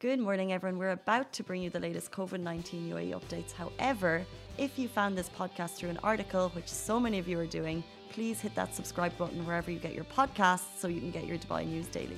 Good morning, everyone. We're about to bring you the latest COVID-19 UAE updates. However, if you found this podcast through an article, which so many of you are doing, please hit that subscribe button wherever you get your podcasts so you can get your Dubai news daily.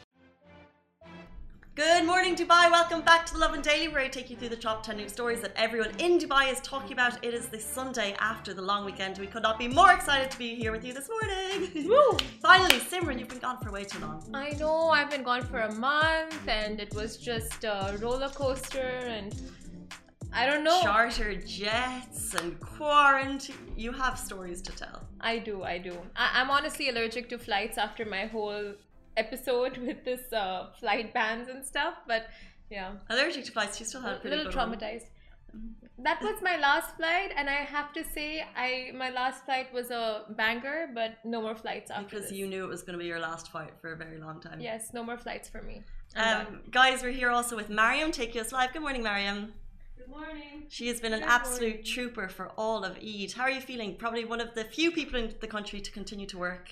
Good morning, Dubai. Welcome back to the Lovin Daily, where I take you through the top 10 news stories that everyone in Dubai is talking about. It is the Sunday after the long weekend. We could not be more excited to be here with you this morning. Woo! Finally, Simran, you've been gone for way too long. I know, I've been gone for a month and it was just a roller coaster and I don't know. Charter jets and quarantine. You have stories to tell. I do. I'm honestly allergic to flights after my whole episode with this flight bans and stuff, but yeah. Allergic to flights, you still had a pretty little good traumatized. That was my last flight, and I have to say, my last flight was a banger, but no more flights after because this. You knew it was going to be your last flight for a very long time. Yes, no more flights for me. Guys, we're here also with Mariam, Take US Live. Good morning, Mariam. Good morning. She has been an absolute trooper for all of Eid. How are you feeling? Probably one of the few people in the country to continue to work.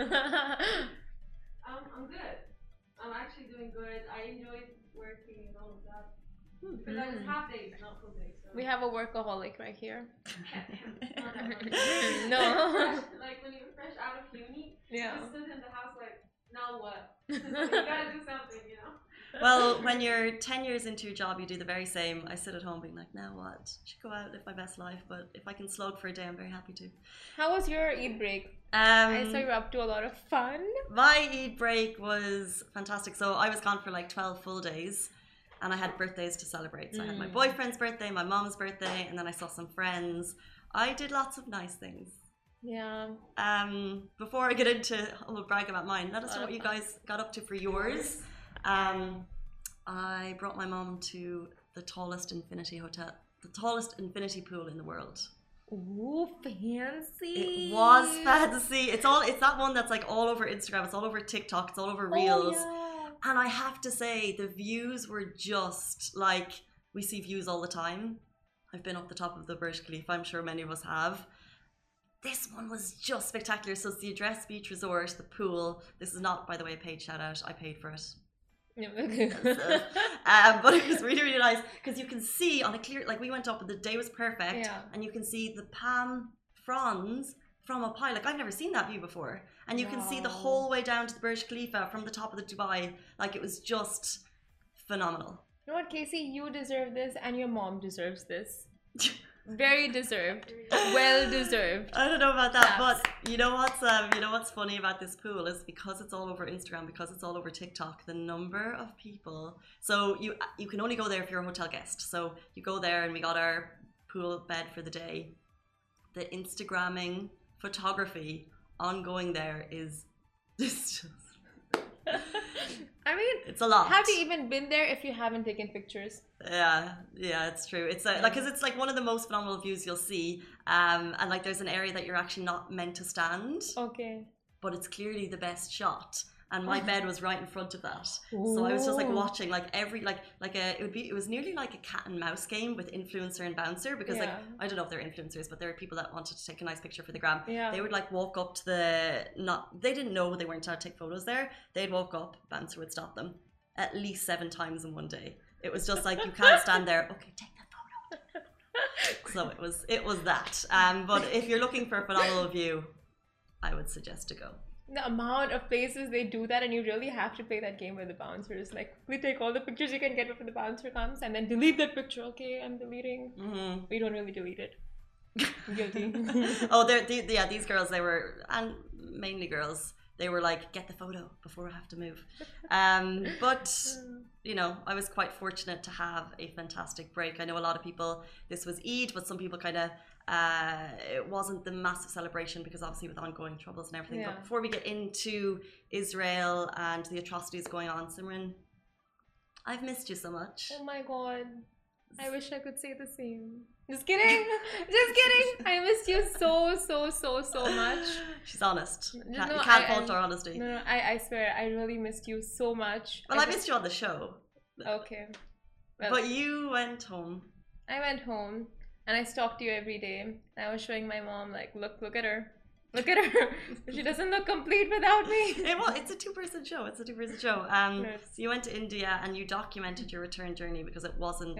I'm good. I'm actually doing good. I enjoyed working and all of that. Because I was half days, not full days. So. We have a workaholic right here. Not that much. No. Like when you're fresh out of uni, Yeah. you just sit in the house like, now what? You gotta do something, you know? Well, when you're 10 years into your job, you do the very same. I sit at home being like, now what? Should go out, live my best life. But if I can slog for a day, I'm very happy to. How was your Eid break? I saw you were up to a lot of fun. My Eid break was fantastic. So I was gone for like 12 full days and I had birthdays to celebrate. So I had my boyfriend's birthday, my mom's birthday, and then I saw some friends. I did lots of nice things. Yeah. Before I get into brag about mine, let us know what you guys got up to for yours. I brought my mom to the tallest infinity pool in the world. Ooh, fancy. It was fancy. It's that one that's like all over Instagram, it's all over TikTok, it's all over Reels. Oh, yeah. And I have to say, the views were just like, we see views all the time. I've been up the top of the Burj Khalifa, I'm sure many of us have. This one was just spectacular. So it's the Address Beach Resort, the pool. This is not, by the way, a paid shout out. I paid for it. But it was really, really nice because you can see on a clear, like we went up and the day was perfect, and you can see the palm fronds from up high. Like I've never seen that view before, and you can see the whole way down to the Burj Khalifa from the top of the Dubai. Like it was just phenomenal. You know what, Casey? You deserve this, and your mom deserves this. Very deserved. Well deserved. I don't know about that, but you know what's funny about this pool is because it's all over Instagram, because it's all over TikTok, the number of people. So you can only go there if you're a hotel guest. So you go there and we got our pool bed for the day. The Instagramming photography ongoing there is just I mean, it's a lot. Have you even been there if you haven't taken pictures? Yeah, it's true. It's like because it's like one of the most phenomenal views you'll see, and like there's an area that you're actually not meant to stand. Okay. But it's clearly the best shot, and my bed was right in front of that. Ooh. So I was just like watching like every it was nearly like a cat and mouse game with influencer and bouncer because like I don't know if they're influencers, but there are people that wanted to take a nice picture for the gram. Yeah. They would like walk up to they didn't know they weren't allowed to take photos there. They'd walk up, bouncer would stop them at least 7 times in one day. It was just like you can't stand there. Okay, take the photo. So it was that. But if you're looking for a phenomenal view, I would suggest to go. The amount of places they do that, and you really have to play that game with the bouncers. Like, we take all the pictures you can get before the bouncer comes, and then delete that picture. Okay, I'm deleting. We don't really delete it. Guilty. Oh, these girls, they were, and mainly girls, they were like, get the photo before I have to move. But you know, I was quite fortunate to have a fantastic break. I know a lot of people, this was Eid, but some people kind of it wasn't the massive celebration because obviously with ongoing troubles and everything. But before we get into Israel and the atrocities going on, Simran, I've missed you so much. Oh my god, I wish I could say the same. Just kidding. Just kidding. I missed you so much. She's honest. You can't fault her honesty. No, I swear, I really missed you so much. Well, I missed you on the show. Okay. Well, but you went home. I went home and I stalked you every day. I was showing my mom, like, look at her. Look at her. She doesn't look complete without me. It's a two-person show. It's a two-person show. Yes. So you went to India and you documented your return journey because it wasn't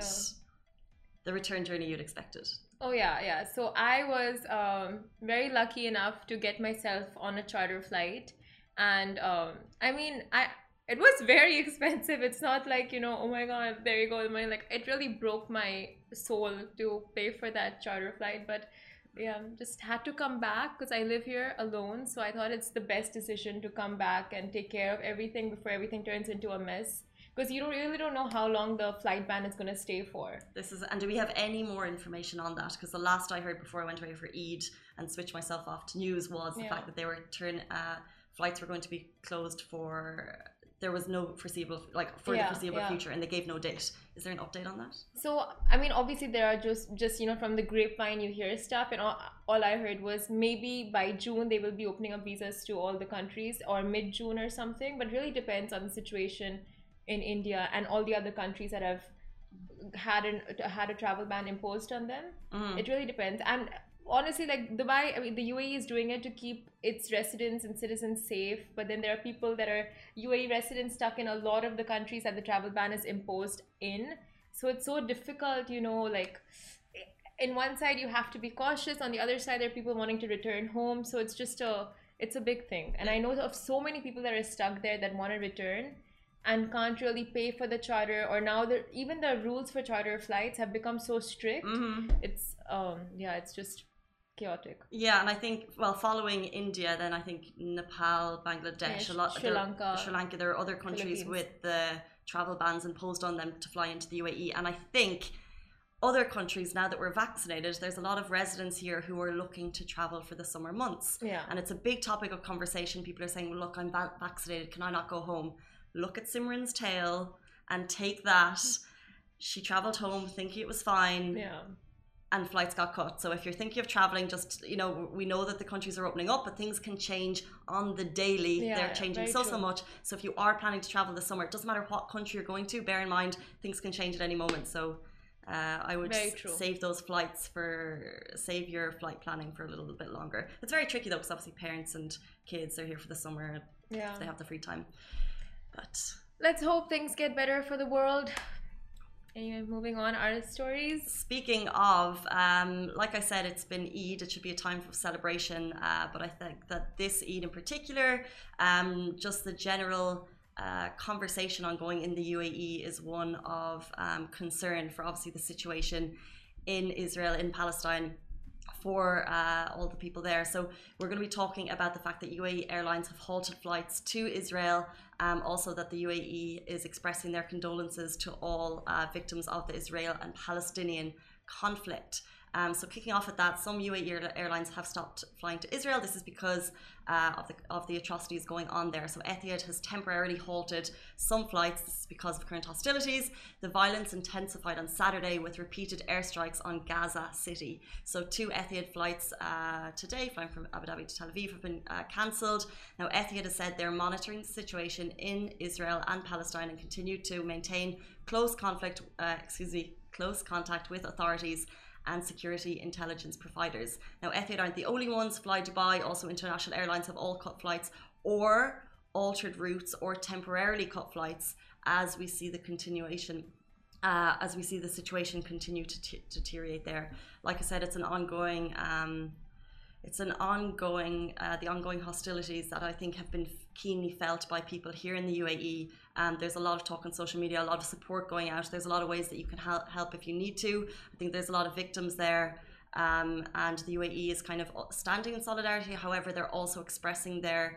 the return journey you'd expected. Oh yeah. So I was very lucky enough to get myself on a charter flight, and I mean, it was very expensive. It's not like, you know, oh my god, there you go, the money. Like, it really broke my soul to pay for that charter flight, but yeah, just had to come back because I live here alone. So I thought it's the best decision to come back and take care of everything before everything turns into a mess. Because you really don't know how long the flight ban is going to stay for. And do we have any more information on that? Because the last I heard before I went away for Eid and switched myself off to news was the fact that they were flights were going to be closed for. There was no foreseeable, the foreseeable future, and they gave no date. Is there an update on that? So, I mean, obviously there are just you know, from the grapevine you hear stuff, and all I heard was maybe by June they will be opening up visas to all the countries, or mid-June or something, but really depends on the situation in India and all the other countries that have had a travel ban imposed on them. It really depends. And honestly, like Dubai, I mean, the UAE is doing it to keep its residents and citizens safe, but then there are people that are UAE residents stuck in a lot of the countries that the travel ban is imposed in. So it's so difficult, you know, like in one side you have to be cautious, on the other side there are people wanting to return home. So it's just it's a big thing. And I know of so many people that are stuck there that want to return and can't really pay for the charter, or now even the rules for charter flights have become so strict. It's it's just chaotic. Yeah, and I think, well, following India, then I think Nepal, Bangladesh, Sri Lanka, there are other countries with the travel bans imposed on them to fly into the UAE. And I think other countries, now that we're vaccinated, there's a lot of residents here who are looking to travel for the summer months. Yeah. And it's a big topic of conversation. People are saying, well, look, I'm vaccinated, can I not go home? Look at Simran's tale and take that. She travelled home thinking it was fine. Yeah. And flights got cut. So if you're thinking of traveling, just, you know, we know that the countries are opening up, but things can change on the daily. They're changing so much. So if you are planning to travel this summer, it doesn't matter what country you're going to, bear in mind things can change at any moment. So I would save those flights save your flight planning for a little bit longer. It's very tricky though, because obviously parents and kids are here for the summer. Yeah. They have the free time. But let's hope things get better for the world. Anyway, moving on, artist stories. Speaking of, like I said, it's been Eid. It should be a time for celebration. But I think that this Eid in particular, just the general conversation ongoing in the UAE is one of concern for obviously the situation in Israel, in Palestine, for all the people there. So we're going to be talking about the fact that UAE Airlines have halted flights to Israel. Also that the UAE is expressing their condolences to all victims of the Israel and Palestinian conflict. So kicking off at that, some UAE airlines have stopped flying to Israel. This is because of the atrocities going on there. So Etihad has temporarily halted some flights. This is because of current hostilities. The violence intensified on Saturday with repeated airstrikes on Gaza City. So 2 Etihad flights today, flying from Abu Dhabi to Tel Aviv, have been cancelled. Now Etihad has said they're monitoring the situation in Israel and Palestine and continue to maintain close contact with authorities and security intelligence providers. Now, Etihad aren't the only ones. Fly Dubai, also international airlines, have all cut flights or altered routes or temporarily cut flights as we see the situation continue to deteriorate there. Like I said, it's the ongoing hostilities that I think have been keenly felt by people here in the UAE. There's a lot of talk on social media, a lot of support going out. There's a lot of ways that you can help if you need to. I think there's a lot of victims there, and the UAE is kind of standing in solidarity. However, they're also expressing their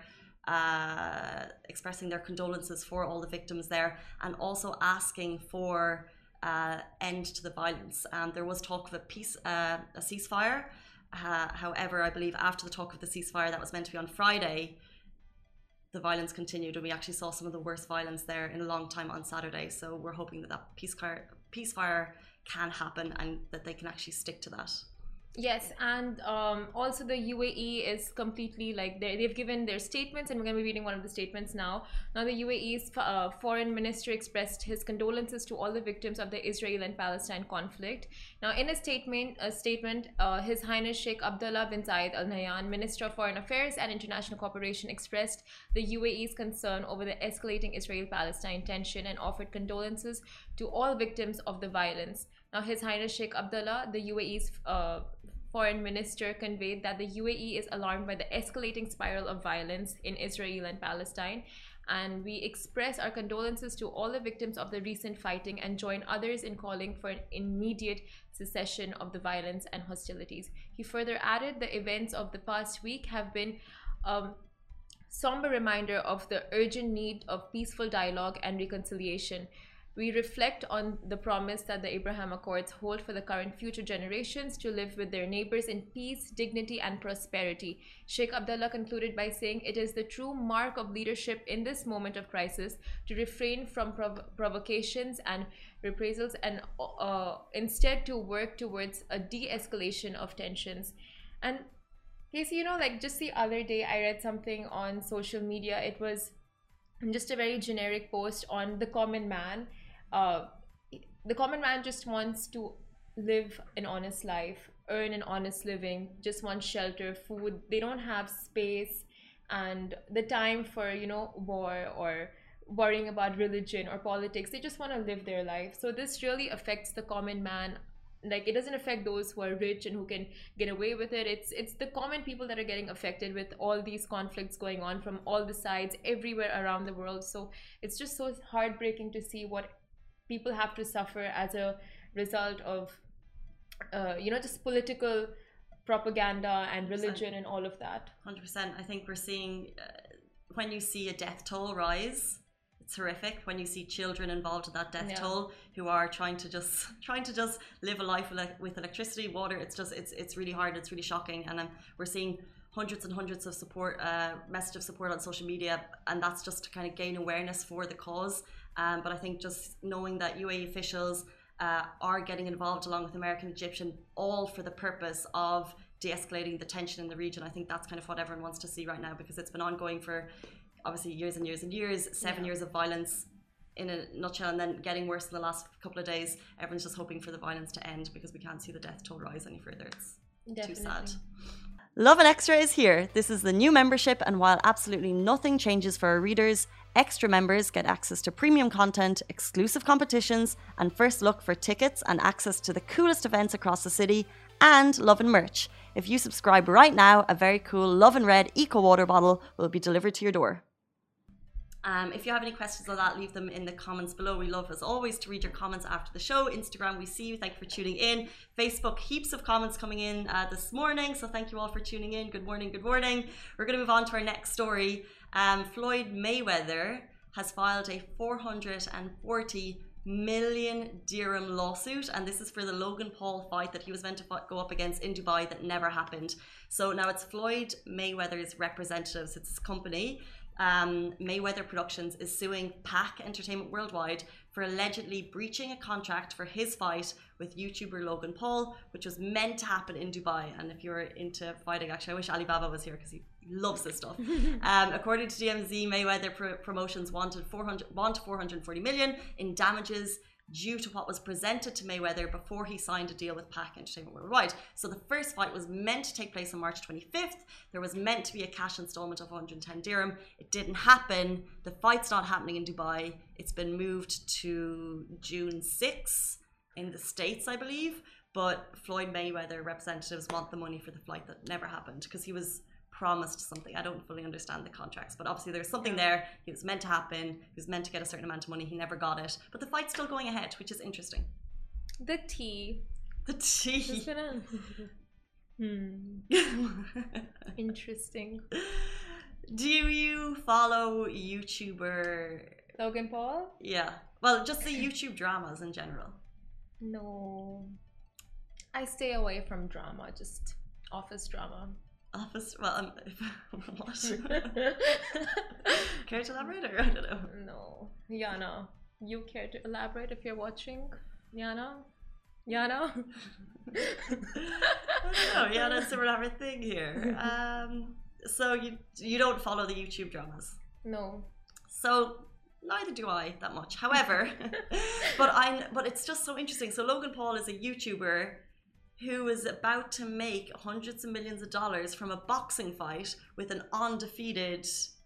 condolences for all the victims there, and also asking for end to the violence. There was talk of a ceasefire. However, I believe after the talk of the ceasefire that was meant to be on Friday, the violence continued, and we actually saw some of the worst violence there in a long time on Saturday. So we're hoping that ceasefire can happen and that they can actually stick to that. Yes, and also the UAE is completely like they've given their statements, and we're going to be reading one of the statements now. Now, the UAE's foreign minister expressed his condolences to all the victims of the Israel and Palestine conflict. Now, in a statement, His Highness Sheikh Abdullah bin Zayed Al Nahyan, Minister of Foreign Affairs and International Cooperation, expressed the UAE's concern over the escalating Israel-Palestine tension and offered condolences to all victims of the violence. Now, His Highness Sheikh Abdullah, the UAE's foreign minister, conveyed that the UAE is alarmed by the escalating spiral of violence in Israel and Palestine, and we express our condolences to all the victims of the recent fighting and join others in calling for an immediate cessation of the violence and hostilities. He further added, the events of the past week have been a somber reminder of the urgent need of peaceful dialogue and reconciliation. We reflect on the promise that the Abraham Accords hold for the current future generations to live with their neighbors in peace, dignity, and prosperity. Sheikh Abdullah concluded by saying it is the true mark of leadership in this moment of crisis to refrain from provocations and reprisals and instead to work towards a de-escalation of tensions. And Casey, like just the other day, I read something on social media. It was just a very generic post on the common man. The common man just wants to live an honest life, earn an honest living, just wants shelter, food. They don't have space and the time for, war or worrying about religion or politics. They just want to live their life. So this really affects the common man. Like, it doesn't affect those who are rich and who can get away with it. It's the common people that are getting affected with all these conflicts going on from all the sides everywhere around the world. So it's just so heartbreaking to see what people have to suffer as a result of just political propaganda and religion 100%. And all of that. 100%. I think we're seeing when you see a death toll rise, it's horrific. When you see children involved in that death toll who are trying to just live a life with electricity, water, it's really hard. It's really shocking. And we're seeing hundreds and hundreds of message of support on social media, and that's just to kind of gain awareness for the cause. But I think just knowing that UAE officials are getting involved along with American, Egyptian, all for the purpose of de-escalating the tension in the region. I think that's kind of what everyone wants to see right now, because it's been ongoing for obviously years and years and years, 7 years of violence in a nutshell, and then getting worse in the last couple of days. Everyone's just hoping for the violence to end because we can't see the death toll rise any further. It's too sad. Lovin Extra is here. This is the new membership, and while absolutely nothing changes for our readers, extra members get access to premium content, exclusive competitions, and first look for tickets and access to the coolest events across the city, and Lovin merch. If you subscribe right now, a very cool Lovin Red Eco Water bottle will be delivered to your door. If you have any questions on that, leave them in the comments below. We love, as always, to read your comments after the show. Instagram, we see you. Thank you for tuning in. Facebook, heaps of comments coming in this morning. So thank you all for tuning in. Good morning, good morning. We're going to move on to our next story. Floyd Mayweather has filed a 440 million dirham lawsuit, and this is for the Logan Paul fight that he was meant to go up against in Dubai that never happened. So now it's Floyd Mayweather's representatives, it's his company, Mayweather Productions, is suing PAC Entertainment Worldwide for allegedly breaching a contract for his fight with YouTuber Logan Paul, which was meant to happen in Dubai. And if you're into fighting, actually, I wish Alibaba was here because he loves this stuff. According to DMZ, Mayweather Promotions wanted 440 million in damages due to what was presented to Mayweather before he signed a deal with PAC Entertainment Worldwide. So the first fight was meant to take place on March 25th. There was meant to be a cash installment of 110 dirham. It didn't happen. The fight's not happening in Dubai. It's been moved to June 6 in the States, I believe. But Floyd Mayweather representatives want the money for the flight that never happened because he was promised something. I don't fully understand the contracts, but obviously there's something there. It was meant to happen. He was meant to get a certain amount of money. He never got it, but the fight's still going ahead, which is interesting. The tea. Interesting. Do you follow YouTuber Logan Paul? Yeah. Well, just the YouTube dramas in general. No. I stay away from drama, just office drama. Office, well, what? Care to elaborate, or I don't know? No. Yana, you care to elaborate if you're watching? Yana? Yana? I don't know. Yana and Simran have a thing here. So you don't follow the YouTube dramas? No. So neither do I that much. However, but it's just so interesting. So Logan Paul is a YouTuber who is about to make hundreds of millions of dollars from a boxing fight with an undefeated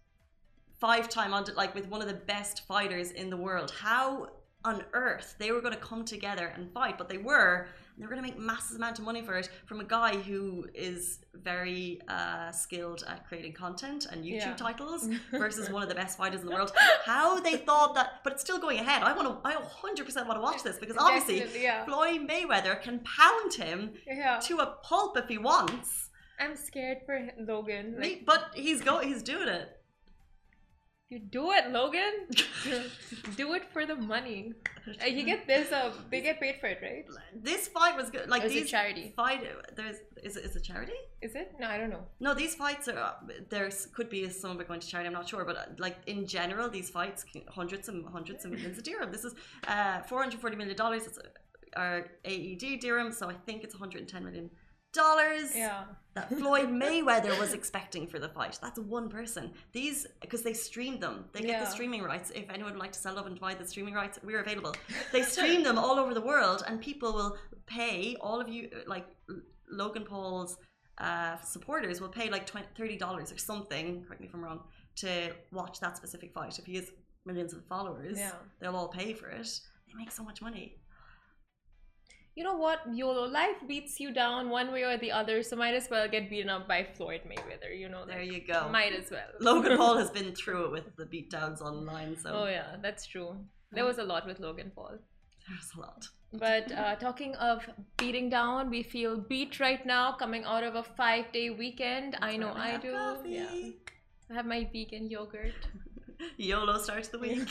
with one of the best fighters in the world. How on earth they were going to come together and fight? But they were going to make massive amount of money for it from a guy who is very skilled at creating content and YouTube titles versus one of the best fighters in the world. How they thought that, but it's still going ahead. I 100% want to watch this because obviously Floyd Mayweather can pound him to a pulp if he wants. I'm scared for Logan. But he's doing it. You do it, Logan. Do it for the money. You get this. They get paid for it, right? This fight was good. Like, these charity. Is it charity? Is it? No, I don't know. No, these fights are. There could be some of it going to charity. I'm not sure, but like in general, these fights hundreds of millions of dirham. This is $440 million. It's our AED dirham, so I think it's $110 million. That Floyd Mayweather was expecting for the fight. That's one person. These, because they streamed them. They get the streaming rights. If anyone would like to sell up and buy the streaming rights, we're available. They stream them all over the world, and people will pay, all of you, like Logan Paul's supporters will pay like $30 or something, correct me if I'm wrong, to watch that specific fight. If he has millions of followers, they'll all pay for it. They make so much money. You know what, YOLO, life beats you down one way or the other, so might as well get beaten up by Floyd Mayweather, you know. There you go. Might as well. Logan Paul has been through it with the beatdowns online, so. Oh yeah, that's true. There was a lot with Logan Paul. There's a lot. But talking of beating down, we feel beat right now, coming out of a 5-day weekend. I know I do. Coffee. Yeah. I have my vegan yogurt. YOLO starts the week.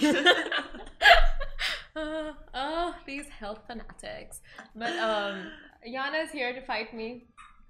These health fanatics. But Yana's here to fight me.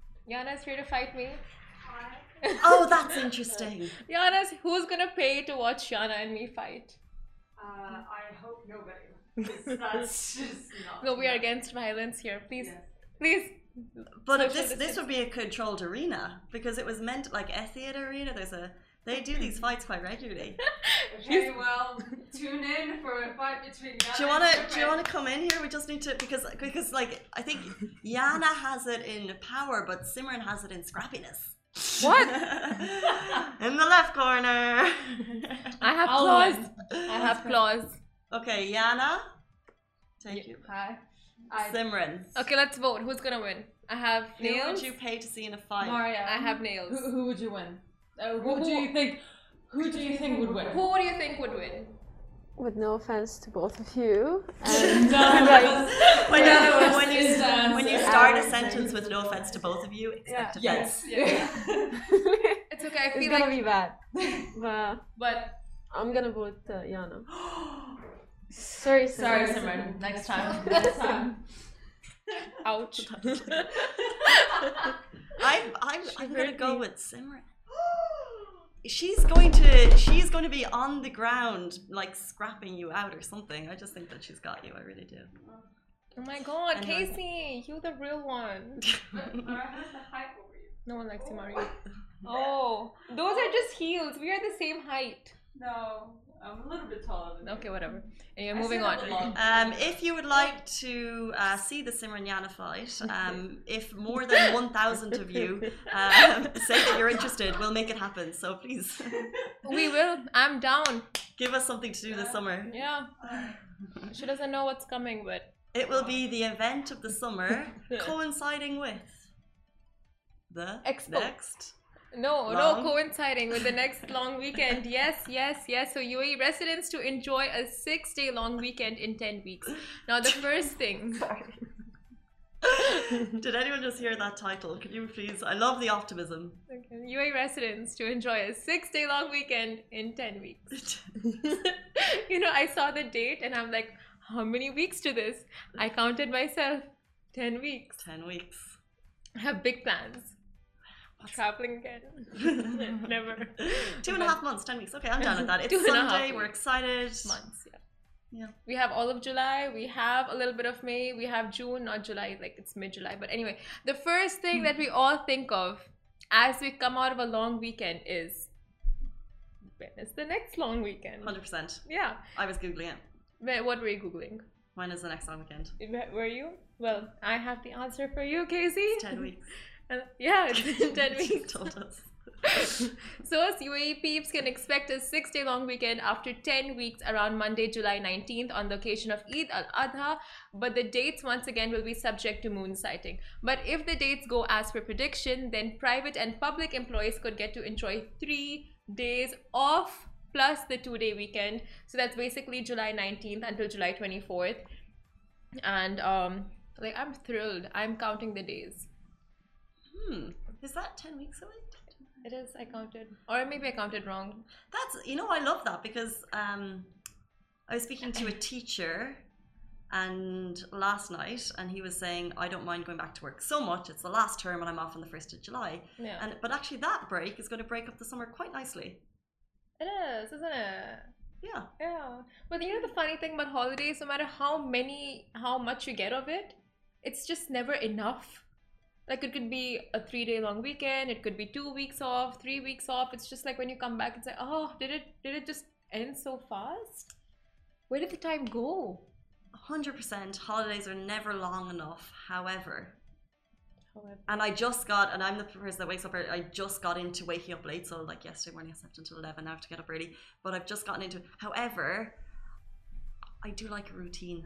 Oh, that's interesting. Who's gonna pay to watch Yana and me fight? I hope nobody. That's just not. No, we are against violence here. Please, please. But this would be a controlled arena because it was meant like Etihad Arena. They do these fights quite regularly. Okay, well, tune in for a fight between Yana Do you wanna come in here? We just need to because like I think Yana has it in power, but Simran has it in scrappiness. What? In the left corner. I have claws. I have claws. Okay, Yana. Thank you. Hi. Simran. Okay, let's vote. Who's gonna win? I have nails. Who would you pay to see in a fight? Maria. I have nails. Who would you win? Who do you think would win? Who do you think would win? With no offense to both of you. When you start a sentence with no offense to both of you, expect offense. Yeah. It's okay. I feel it's gonna be bad. But I'm gonna vote Yana. Sorry, Simran. Next time. Ouch. I'm gonna go with Simran. She's going to be on the ground like scrapping you out or something. I just think that she's got you. I really do. Oh my god, anyway. Casey, you're the real one. Mara has the height over you. No one likes you, Mario. Oh, those are just heels. We are the same height. No, I'm a little bit taller than you. Okay, whatever. Anyway, moving on. If you would like to see the Simran Yana fight, if more than 1,000 of you say that you're interested, we'll make it happen. So please. We will. I'm down. Give us something to do this summer. Yeah. She doesn't know what's coming, but it will be the event of the summer coinciding with the next. No, coinciding with the next long weekend. Yes. So UAE residents to enjoy a 6-day long weekend in 10 weeks. Now the first thing. Did anyone just hear that title? Could you please? I love the optimism. Okay. UAE residents to enjoy a 6-day long weekend in 10 weeks. You know, I saw the date and I'm like, how many weeks to this? I counted myself. 10 weeks. 10 weeks. I have big plans. Traveling again. Never. 2.5 months, 10 weeks. Okay, I'm down with that. It's Sunday, we're excited. Months, yeah. Yeah. We have all of July, we have a little bit of May, we have June, not July, like it's mid-July. But anyway, the first thing that we all think of as we come out of a long weekend is, when is the next long weekend? 100%. Yeah. I was Googling it. What were you Googling? When is the next long weekend? Were you? Well, I have the answer for you, Casey. It's 10 weeks. Yeah, it's been 10 She weeks. told us. So us UAE peeps can expect a 6-day long weekend after 10 weeks around Monday, July 19th on the occasion of Eid al-Adha, but the dates once again will be subject to moon sighting. But if the dates go as per prediction, then private and public employees could get to enjoy 3 days off plus the 2-day weekend. So that's basically July 19th until July 24th. And like, I'm thrilled. I'm counting the days. Is that 10 weeks away? It is, I counted. Or maybe I counted wrong. That's, you know, I love that because I was speaking to a teacher and last night, and he was saying, I don't mind going back to work so much. It's the last term and I'm off on the 1st of July. Yeah. But actually that break is going to break up the summer quite nicely. It is, isn't it? Yeah. Yeah. But you know the funny thing about holidays, no matter how much you get of it, it's just never enough. Like, it could be a 3-day long weekend, it could be 2 weeks off, 3 weeks off. It's just like when you come back, it's like, oh, did it just end so fast? Where did the time go? 100%. Holidays are never long enough. However, and I'm the person that wakes up early. I just got into waking up late. So like yesterday morning I slept until 11. I have to get up early. But I've just gotten into it. However, I do like a routine.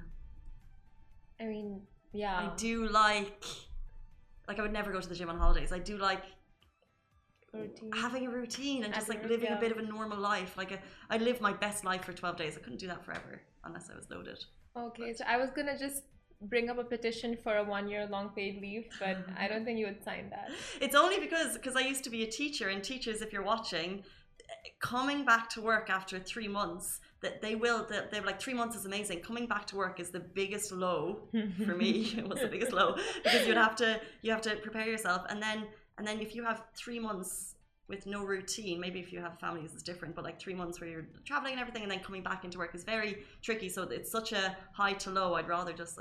I mean, yeah. I do like I would never go to the gym on holidays. I do like having a routine and just like living a bit of a normal life. Like I lived my best life for 12 days. I couldn't do that forever unless I was loaded. Okay, so I was gonna just bring up a petition for a 1-year long paid leave, but I don't think you would sign that. It's only because I used to be a teacher, and teachers, if you're watching, coming back to work after 3 months, they're like 3 months is amazing. Coming back to work is the biggest low for me. It was the biggest low because you have to prepare yourself, and then if you have 3 months with no routine, maybe if you have families it's different, but like 3 months where you're traveling and everything and then coming back into work is very tricky. So it's such a high to low. I'd rather just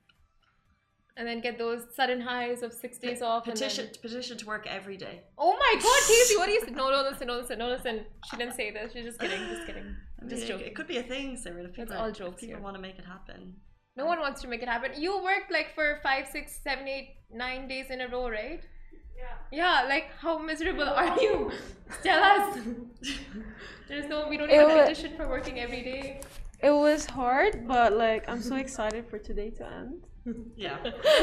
and then get those sudden highs of 6 days off. Petition to work every day. Oh my God, Casey, what do you say? No, listen. She didn't say this. She's just kidding. Just joking. It could be a thing, Sarah. It's all jokes. People want to make it happen. No one wants to make it happen. You worked like for 5, 6, 7, 8, 9 days in a row, right? Yeah, like how miserable are you? Tell us. We don't need a petition for working every day. It was hard, but like I'm so excited for today to end. Yeah.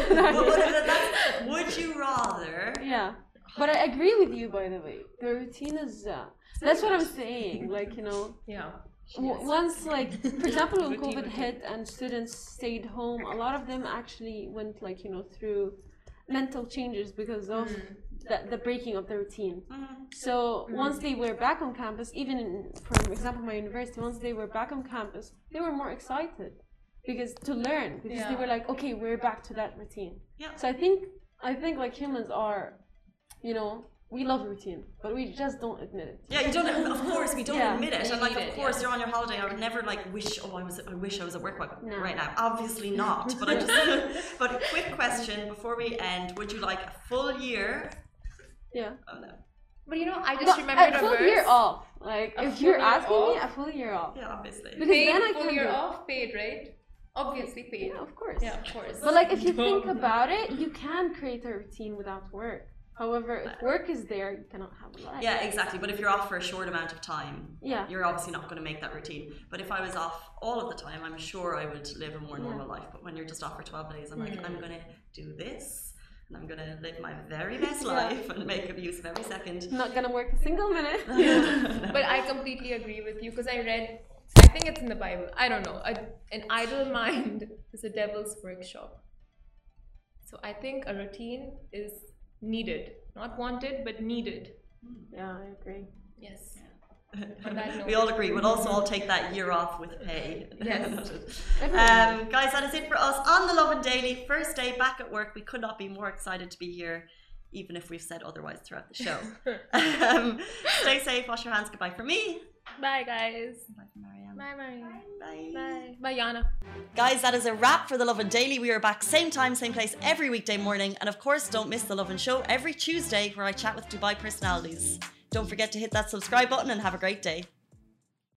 Would you rather? Yeah. But I agree with you, by the way. The routine is that's what I'm saying. Like, you know. Yeah. Once, like, for example, when COVID hit and students stayed home, a lot of them actually went, like, you know, through mental changes because of the breaking of the routine. So once they were back on campus, even for example my university, once they were back on campus, they were more excited because they were like, okay, we're back to that routine. So I think like humans are, you know, we love routine, but we just don't admit it. Yeah, you don't. Of course, we don't admit it. And like, of course, you're on your holiday. I would never like wish. Oh, I wish I was at work right now. Obviously not. But I just. But a quick question before we end: would you like a full year? Yeah. Oh no. But you know, I just remembered a full year off. Like, if you're asking me, a full year off. Yeah, obviously. Because paid, then I full can year off, paid, right? Obviously paid. Yeah, of course. Yeah, of course. But like, if you think about it, you can create a routine without work. However, if work is there, you cannot have a life. Yeah, exactly. But if you're off for a short amount of time, you're obviously not going to make that routine. But if I was off all of the time, I'm sure I would live a more normal life. But when you're just off for 12 days, I'm like, I'm going to do this, and I'm going to live my very best life and make use of every second. Not going to work a single minute. But I completely agree with you because I read, I think it's in the Bible, I don't know, an idle mind is a devil's workshop. So I think a routine is needed, not wanted, but needed. Yeah, I agree. Yes. We all agree. We'll also all take that year off with pay. Yes. Guys, that is it for us on the Lovin Daily. First day back at work. We could not be more excited to be here, even if we've said otherwise throughout the show. Stay safe, wash your hands. Goodbye from me. Bye, guys. Bye, Marianne. Bye, Marianne. Bye. Bye. Bye, Yana. Guys, that is a wrap for The Lovin Daily. We are back same time, same place every weekday morning. And of course, don't miss The Lovin Show every Tuesday where I chat with Dubai personalities. Don't forget to hit that subscribe button and have a great day.